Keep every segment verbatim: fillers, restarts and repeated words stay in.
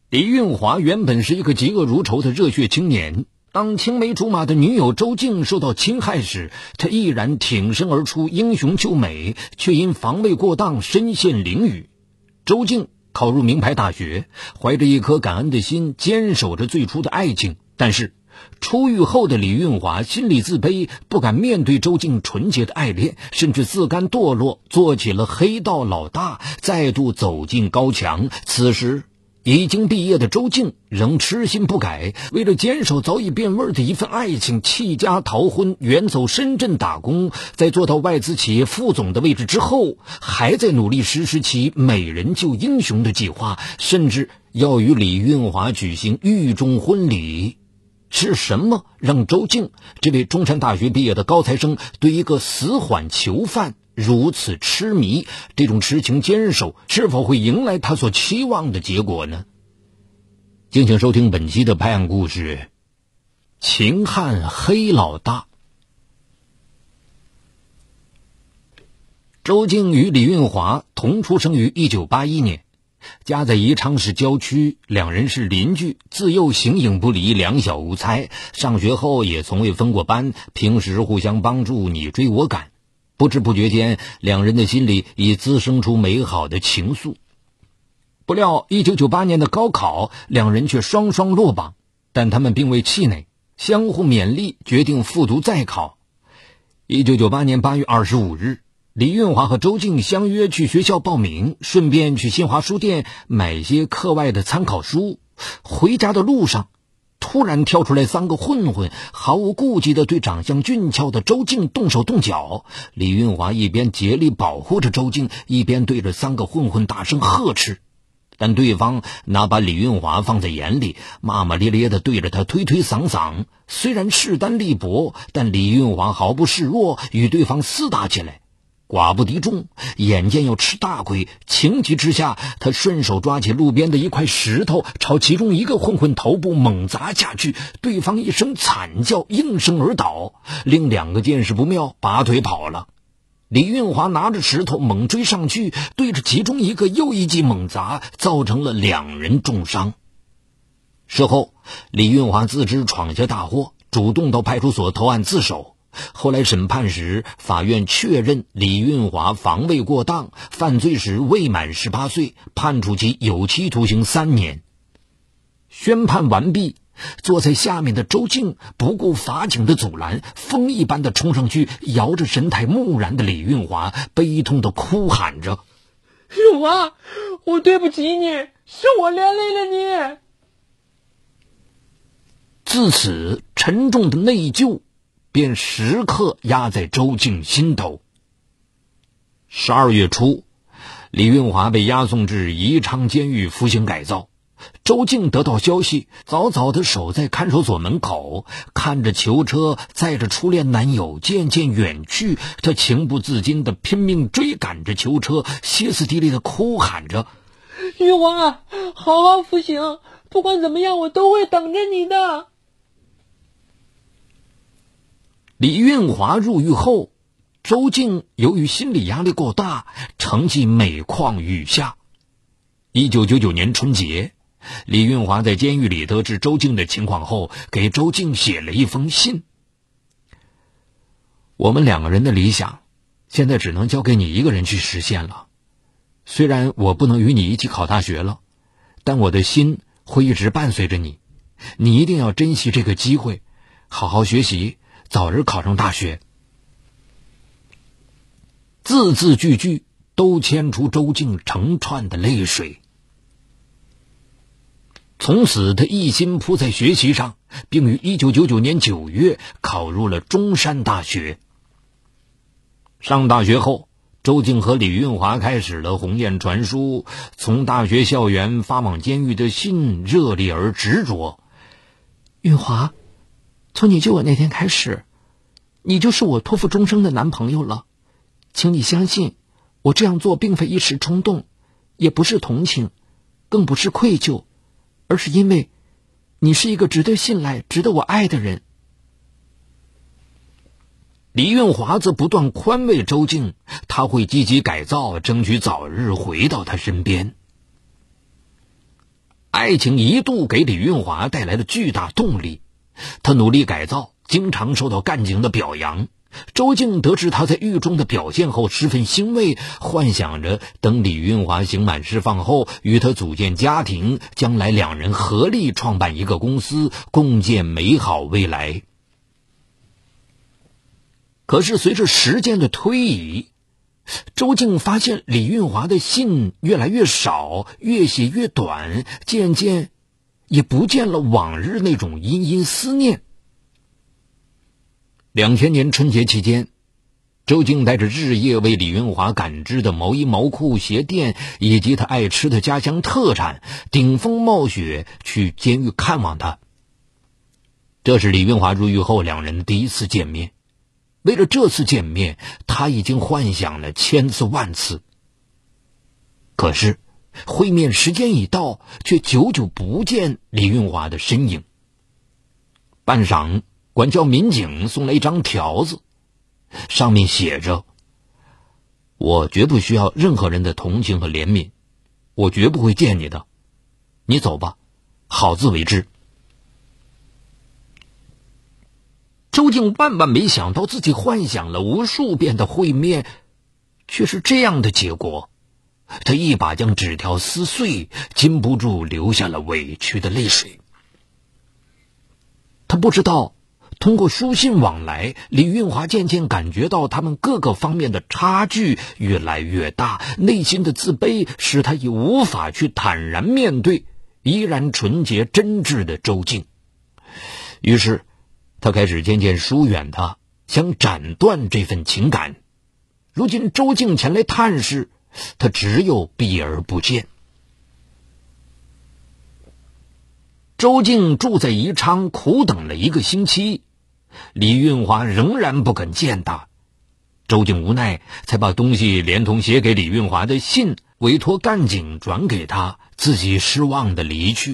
李运华原本是一个嫉恶如仇的热血青年，当青梅竹马的女友周静受到侵害时，他毅然挺身而出，英雄救美，却因防卫过当身陷囹圄。周静考入名牌大学，怀着一颗感恩的心，坚守着最初的爱情。但是出狱后的李运华心里自卑，不敢面对周静纯洁的爱恋，甚至自甘堕落，做起了黑道老大，再度走进高墙。此时已经毕业的周静仍痴心不改，为了坚守早已变味的一份爱情，弃家逃婚，远走深圳打工。在做到外资企业副总的位置之后，还在努力实施其美人救英雄的计划，甚至要与李运华举行狱中婚礼。是什么让周静这位中山大学毕业的高材生对一个死缓囚犯如此痴迷？这种痴情坚守是否会迎来他所期望的结果呢？敬请收听本期的拍案故事，秦汉黑老大。周静与李运华同出生于一九八一年，家在宜昌市郊区，两人是邻居，自幼形影不离，两小无猜。上学后也从未分过班，平时互相帮助，你追我赶。不知不觉间，两人的心里已滋生出美好的情愫。不料一九九八年的高考，两人却双双落榜，但他们并未气馁，相互勉励，决定复读再考。一九九八年八月二十五日，李运华和周静相约去学校报名，顺便去新华书店买些课外的参考书。回家的路上，突然跳出来三个混混，毫无顾忌地对长相俊俏的周静动手动脚。李运华一边竭力保护着周静，一边对着三个混混大声呵斥。但对方哪把李运华放在眼里，骂骂咧咧地对着他推推搡搡。虽然势单力薄，但李运华毫不示弱，与对方厮打起来。寡不敌众，眼见要吃大亏，情急之下，他顺手抓起路边的一块石头，朝其中一个混混头部猛砸下去。对方一声惨叫，应声而倒。另两个见势不妙，拔腿跑了。李运华拿着石头猛追上去，对着其中一个又一记猛砸，造成了两人重伤。事后，李运华自知闯下大祸，主动到派出所投案自首。后来审判时，法院确认李运华防卫过当，犯罪时未满十八岁，判处其有期徒刑三年。宣判完毕，坐在下面的周静不顾法警的阻拦，风一般的冲上去，摇着神态木然的李运华，悲痛的哭喊着： 运华，我对不起你，是我连累了你。 自此，沉重的内疚便时刻压在周静心头。十二月初，李运华被押送至宜昌监狱服刑改造。周静得到消息，早早地守在看守所门口，看着囚车载着初恋男友渐渐远去，她情不自禁地拼命追赶着囚车，歇斯底里地哭喊着： 运华，好好服刑，不管怎么样，我都会等着你的。 李运华入狱后，周静由于心理压力过大，成绩每况愈下。一九九九年春节，李运华在监狱里得知周静的情况后，给周静写了一封信：我们两个人的理想，现在只能交给你一个人去实现了。虽然我不能与你一起考大学了，但我的心会一直伴随着你。你一定要珍惜这个机会，好好学习，早日考上大学。字字句句都牵出周静成串的泪水。从此他一心扑在学习上，并于一九九九年九月考入了中山大学。上大学后，周静和李运华开始了鸿雁传书，从大学校园发往监狱的信热烈而执着。 运华，从你救我那天开始，你就是我托付终生的男朋友了。请你相信，我这样做并非一时冲动，也不是同情，更不是愧疚，而是因为你是一个值得信赖、值得我爱的人。 李运华则不断宽慰周静，他会积极改造，争取早日回到他身边。 爱情一度给李运华带来了巨大动力，他努力改造，经常受到干警的表扬。周静得知他在狱中的表现后十分欣慰，幻想着等李运华刑满释放后与他组建家庭，将来两人合力创办一个公司，共建美好未来。可是随着时间的推移，周静发现李运华的信越来越少，越写越短，渐渐也不见了往日那种殷殷思念。两千年春节期间，周静带着日夜为李运华赶制的毛衣毛裤鞋垫以及他爱吃的家乡特产，顶风冒雪去监狱看望他。这是李运华入狱后两人的第一次见面。为了这次见面，他已经幻想了千次万次。可是会面时间一到，却久久不见李运华的身影。半晌，管教民警送来一张条子，上面写着：我绝不需要任何人的同情和怜悯，我绝不会见你的，你走吧，好自为之。周静万万没想到，自己幻想了无数遍的会面，却是这样的结果。他一把将纸条撕碎，禁不住流下了委屈的泪水。他不知道，通过书信往来，李运华渐渐感觉到他们各个方面的差距越来越大，内心的自卑使他已无法去坦然面对依然纯洁真挚的周静。于是他开始渐渐疏远他，想斩断这份情感。如今周静前来探视，他只有避而不见。周静住在宜昌，苦等了一个星期，李运华仍然不肯见他。周静无奈，才把东西连同写给李运华的信委托干警转给他，自己失望地离去。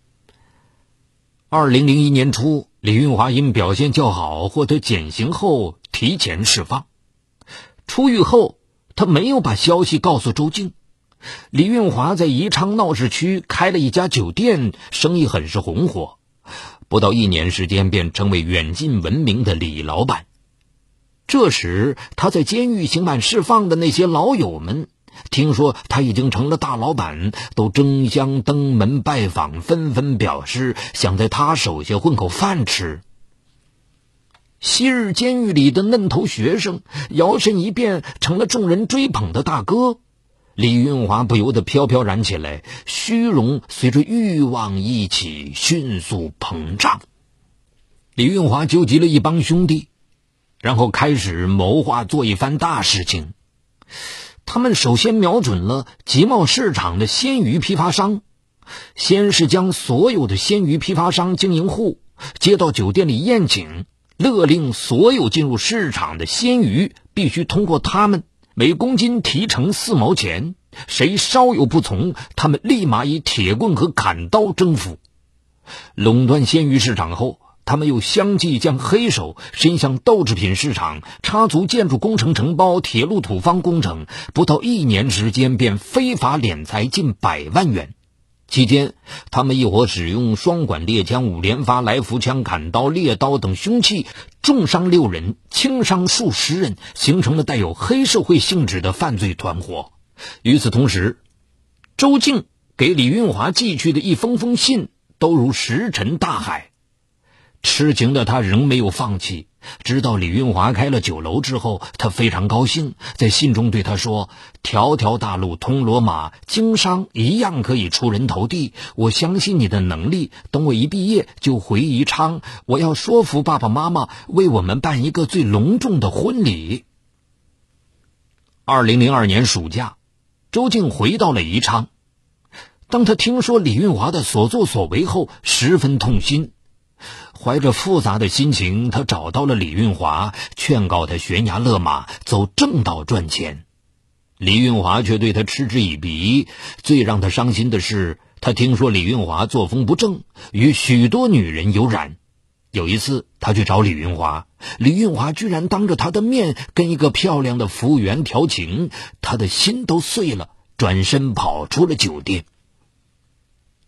二零零一年初，李运华因表现较好获得减刑后提前释放。出狱后，他没有把消息告诉周静。李运华在宜昌闹市区开了一家酒店，生意很是红火，不到一年时间便成为远近闻名的李老板。这时他在监狱刑满释放的那些老友们听说他已经成了大老板，都争相登门拜访，纷纷表示想在他手下混口饭吃。昔日监狱里的嫩头学生摇身一变成了众人追捧的大哥，李运华不由得飘飘然起来，虚荣随着欲望一起迅速膨胀。李运华纠集了一帮兄弟，然后开始谋划做一番大事情。他们首先瞄准了集贸市场的鲜鱼批发商，先是将所有的鲜鱼批发商经营户接到酒店里宴请，勒令所有进入市场的鲜鱼必须通过他们，每公斤提成四毛钱，谁稍有不从，他们立马以铁棍和砍刀征服。垄断鲜鱼市场后，他们又相继将黑手伸向豆制品市场，插足建筑工程承包、铁路土方工程，不到一年时间便非法敛财近百万元。期间，他们一伙使用双管猎枪、五连发来福枪、砍刀、猎刀等凶器，重伤六人，轻伤数十人，形成了带有黑社会性质的犯罪团伙。与此同时，周静给李运华寄去的一封封信都如石沉大海。痴情的他仍没有放弃，直到李运华开了酒楼之后，他非常高兴，在信中对他说：条条大路通罗马，经商一样可以出人头地，我相信你的能力，等我一毕业就回宜昌，我要说服爸爸妈妈为我们办一个最隆重的婚礼。二零零二年暑假，周静回到了宜昌。当他听说李运华的所作所为后，十分痛心。怀着复杂的心情，他找到了李运华，劝告他悬崖勒马，走正道赚钱。李运华却对他嗤之以鼻。最让他伤心的是，他听说李运华作风不正，与许多女人有染。有一次他去找李运华，李运华居然当着他的面跟一个漂亮的服务员调情，他的心都碎了，转身跑出了酒店。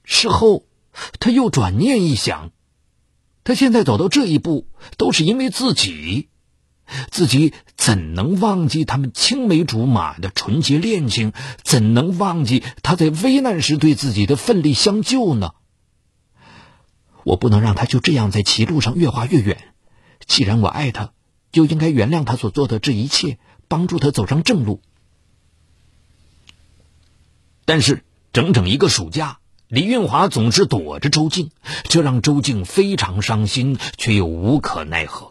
事后他又转念一想，他现在走到这一步都是因为自己，自己怎能忘记他们青梅竹马的纯洁恋情，怎能忘记他在危难时对自己的奋力相救呢？我不能让他就这样在歧路上越滑越远，既然我爱他，就应该原谅他所做的这一切，帮助他走上正路。 但是整整一个暑假，李运华总是躲着周静，这让周静非常伤心，却又无可奈何。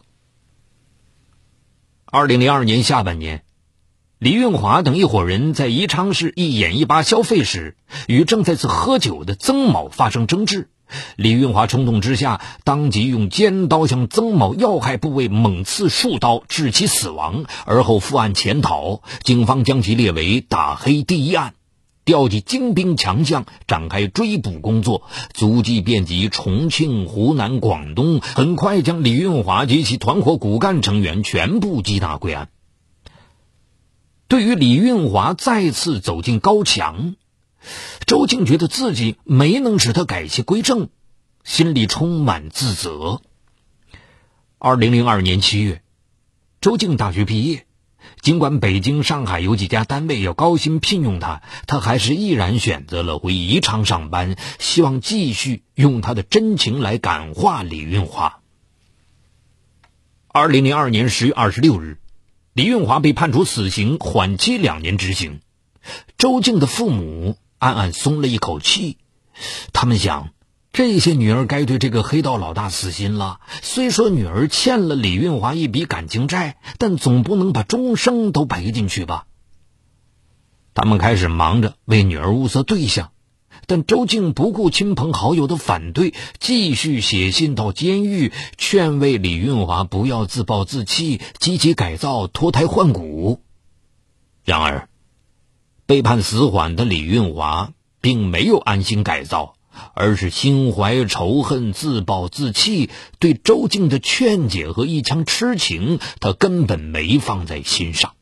二零零二年下半年，李运华等一伙人在宜昌市一眼一八消费时，与正在此喝酒的曾某发生争执。李运华冲动之下，当即用尖刀向曾某要害部位猛刺数刀，致其死亡，而后负案潜逃。警方将其列为打黑第一案，调集精兵强将展开追捕工作，足迹遍及重庆、湖南、广东，很快将李运华及其团伙骨干成员全部缉拿归案。对于李运华再次走进高墙，周静觉得自己没能使他改邪归正，心里充满自责。二零零二年七月，周静大学毕业，尽管北京、上海有几家单位要高薪聘用他，他还是毅然选择了回宜昌上班，希望继续用他的真情来感化李运华。二零零二年十月二十六日，李运华被判处死刑，缓期两年执行。周静的父母暗暗松了一口气，他们想，这些女儿该对这个黑道老大死心了。虽说女儿欠了李运华一笔感情债，但总不能把终生都赔进去吧。他们开始忙着为女儿物色对象，但周静不顾亲朋好友的反对，继续写信到监狱，劝慰李运华不要自暴自弃，积极改造，脱胎换骨。然而被判死缓的李运华并没有安心改造，而是心怀仇恨，自暴自弃，对周静的劝解和一腔痴情他根本没放在心上。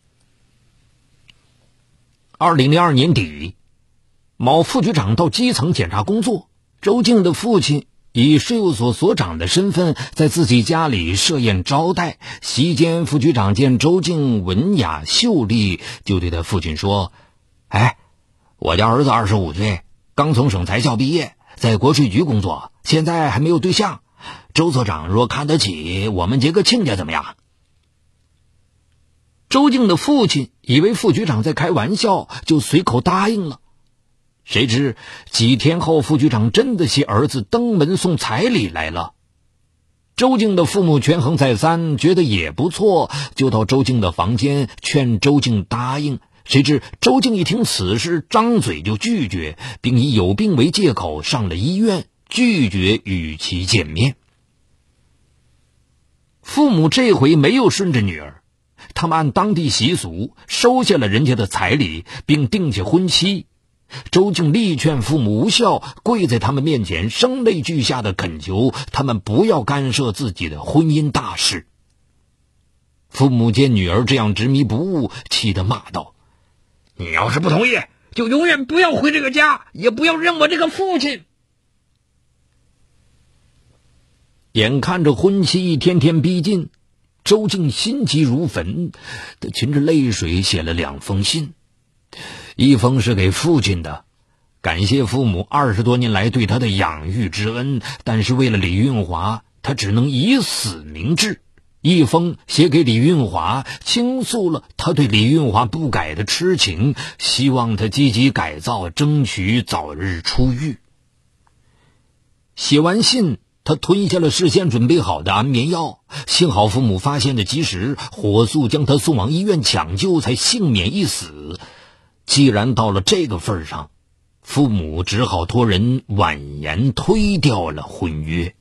二零零二年底，某副局长到基层检查工作，周静的父亲以税务所所长的身份在自己家里设宴招待。席间，副局长见周静文雅秀丽，就对他父亲说：哎，我家儿子二十五岁，刚从省财校毕业，在国税局工作，现在还没有对象。周所长若看得起，我们结个亲家怎么样？周静的父亲以为副局长在开玩笑，就随口答应了。谁知几天后，副局长真的携儿子登门送彩礼来了。周静的父母权衡再三，觉得也不错，就到周静的房间劝周静答应。谁知周静一听此事，张嘴就拒绝，并以有病为借口上了医院，拒绝与其见面。父母这回没有顺着女儿，他们按当地习俗收下了人家的彩礼，并定下婚期。周静力劝父母无效，跪在他们面前声泪俱下的恳求他们不要干涉自己的婚姻大事。父母见女儿这样执迷不悟，气得骂道：你要是不同意，就永远不要回这个家，也不要认我这个父亲。眼看着婚期一天天逼近，周静心急如焚，他噙着泪水写了两封信。一封是给父亲的，感谢父母二十多年来对他的养育之恩，但是为了李运华，他只能以死明志。一封写给李运华，倾诉了他对李运华不改的痴情，希望他积极改造，争取早日出狱。写完信，他吞下了事先准备好的安眠药，幸好父母发现的及时，火速将他送往医院抢救，才幸免一死。既然到了这个份上，父母只好托人婉言推掉了婚约。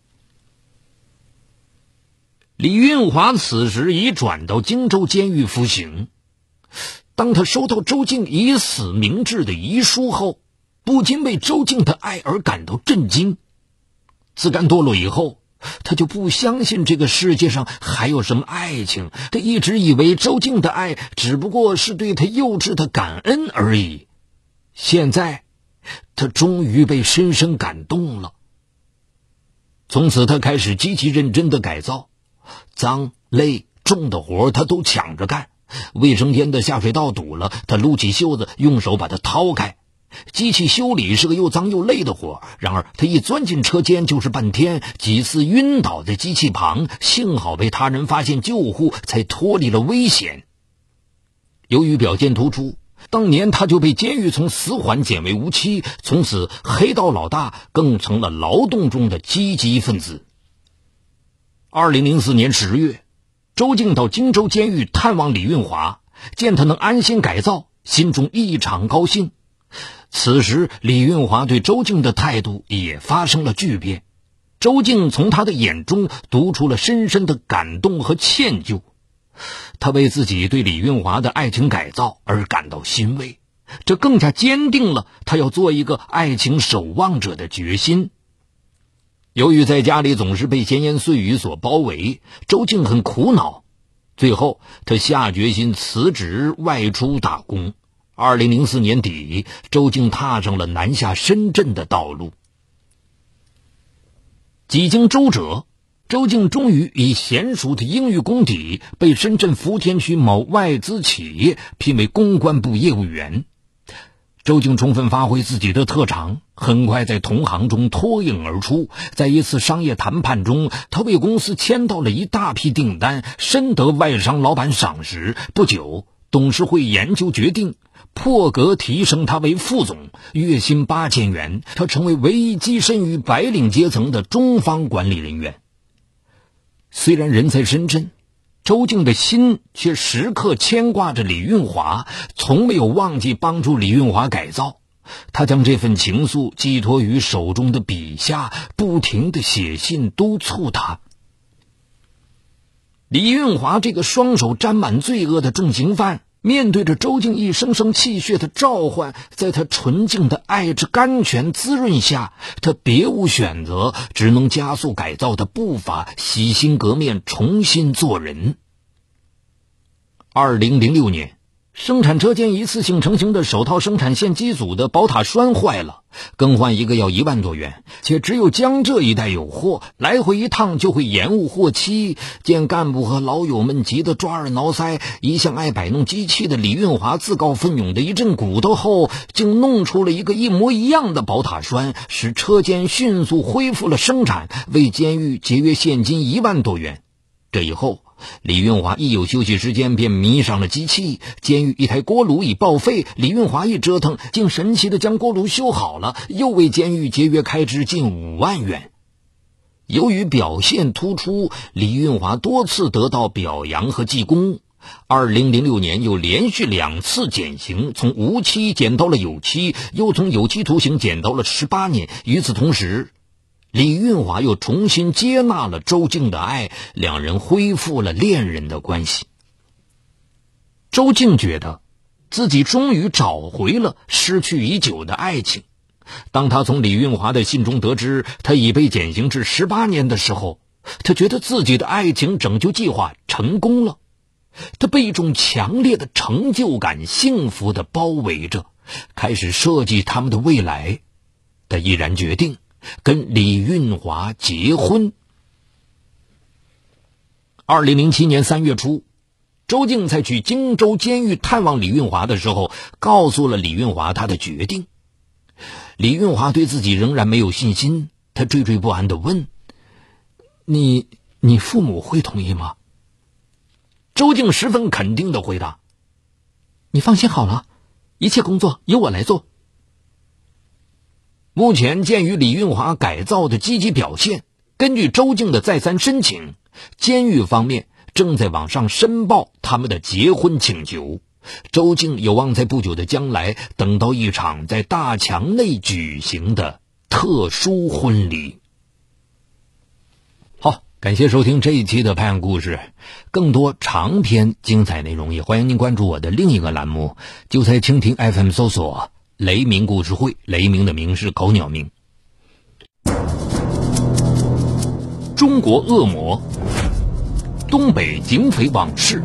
李运华此时已转到荆州监狱服刑。当他收到周静以死明志的遗书后，不禁为周静的爱而感到震惊。自甘堕落以后，他就不相信这个世界上还有什么爱情，他一直以为周静的爱只不过是对他幼稚的感恩而已。现在他终于被深深感动了。从此他开始极其认真的改造，脏累重的活他都抢着干，卫生间的下水道堵了，他撸起袖子用手把它掏开。机器修理是个又脏又累的活，然而他一钻进车间就是半天，几次晕倒在机器旁，幸好被他人发现救护，才脱离了危险。由于表现突出，当年他就被监狱从死缓减为无期，从此黑道老大更成了劳动中的积极分子。二零零四年十月，周静到荆州监狱探望李运华，见他能安心改造，心中异常高兴。此时李运华对周静的态度也发生了巨变，周静从他的眼中读出了深深的感动和歉疚。他为自己对李运华的爱情改造而感到欣慰，这更加坚定了他要做一个爱情守望者的决心。由于在家里总是被闲言碎语所包围，周静很苦恼，最后他下决心辞职外出打工。二零零四年底，周静踏上了南下深圳的道路。几经周折，周静终于以娴熟的英语功底被深圳福田区某外资企业聘为公关部业务员。周静充分发挥自己的特长，很快在同行中脱颖而出。在一次商业谈判中，他为公司签到了一大批订单，深得外商老板赏识。不久，董事会研究决定破格提升他为副总，月薪八千元，他成为唯一跻身于白领阶层的中方管理人员。虽然人在深圳，周静的心却时刻牵挂着李运华，从没有忘记帮助李运华改造。他将这份情愫寄托于手中的笔下，不停地写信督促他。李运华这个双手沾满罪恶的重刑犯，面对着周静一声声气血的召唤，在他纯净的爱之甘泉滋润下，他别无选择，只能加速改造的步伐，洗心革面，重新做人。二零零六年，生产车间一次性成型的手套生产线机组的宝塔栓坏了，更换一个要一万多元，且只有江浙一带有货，来回一趟就会延误货期。见干部和老友们急得抓耳挠腮，一向爱摆弄机器的李运华自告奋勇的一阵鼓捣后，竟弄出了一个一模一样的宝塔栓，使车间迅速恢复了生产，为监狱节约现金一万多元。这以后，李运华一有休息时间便迷上了机器。监狱一台锅炉已报废，李运华一折腾，竟神奇地将锅炉修好了，又为监狱节约开支近五万元。由于表现突出，李运华多次得到表扬和记功。二零零六年又连续两次减刑，从无期减到了有期，又从有期徒刑减到了十八年。与此同时，李运华又重新接纳了周静的爱，两人恢复了恋人的关系。周静觉得自己终于找回了失去已久的爱情。当他从李运华的信中得知他已被减刑至十八年的时候，他觉得自己的爱情拯救计划成功了。他被一种强烈的成就感幸福地包围着，开始设计他们的未来。他毅然决定跟李运华结婚。二零零七年三月初，周静在去荆州监狱探望李运华的时候，告诉了李运华他的决定。李运华对自己仍然没有信心，他惴惴不安地问：你你父母会同意吗？周静十分肯定地回答：你放心好了，一切工作由我来做。目前鉴于李运华改造的积极表现，根据周静的再三申请，监狱方面正在网上申报他们的结婚请求。周静有望在不久的将来等到一场在大墙内举行的特殊婚礼。好，感谢收听这一期的拍案故事。更多长篇精彩内容，也欢迎您关注我的另一个栏目，就在蜻蜓 F M 搜索雷鸣故事会，雷鸣的鸣是狗鸟鸣。中国恶魔，东北警匪往事，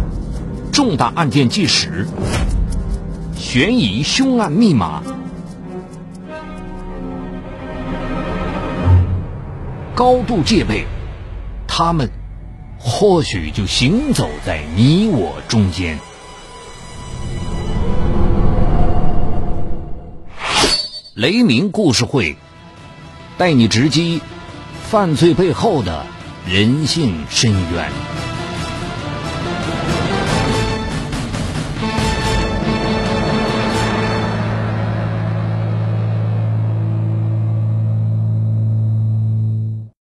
重大案件纪实，悬疑凶案密码， 高度戒备，他们或许就行走在你我中间。雷鸣故事会带你直击犯罪背后的人性深渊。